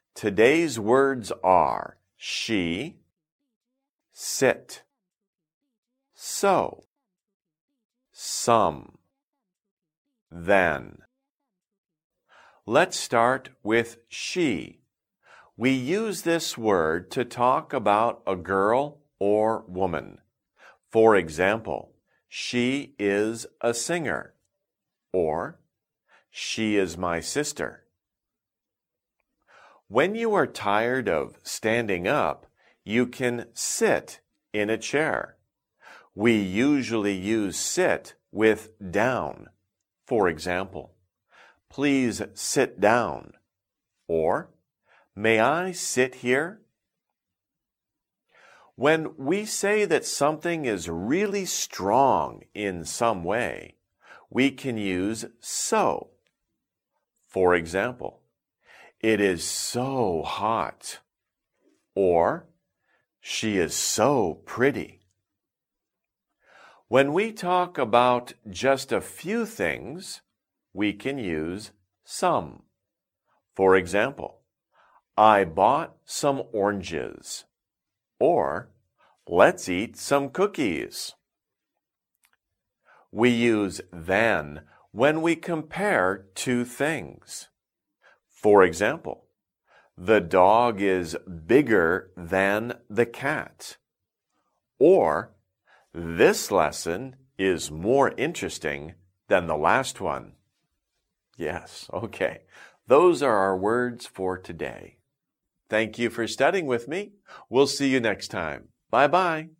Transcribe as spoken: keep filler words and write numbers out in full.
Today's words are she, sit, so, some, then. Let's start with she. We use this word to talk about a girl or woman. For example, she is a singer, or she is my sister. When you are tired of standing up, you can sit in a chair. We usually use sit with down. For example, please sit down, or may I sit here? When we say that something is really strong in some way, we can use so. For example, it is so hot, or she is so pretty. When we talk about just a few things, we can use some. For example, I bought some oranges, or let's eat some cookies. We use than when we compare two things. For example, the dog is bigger than the cat. Or, this lesson is more interesting than the last one. Yes, okay. Those are our words for today. Thank you for studying with me. We'll see you next time. Bye-bye.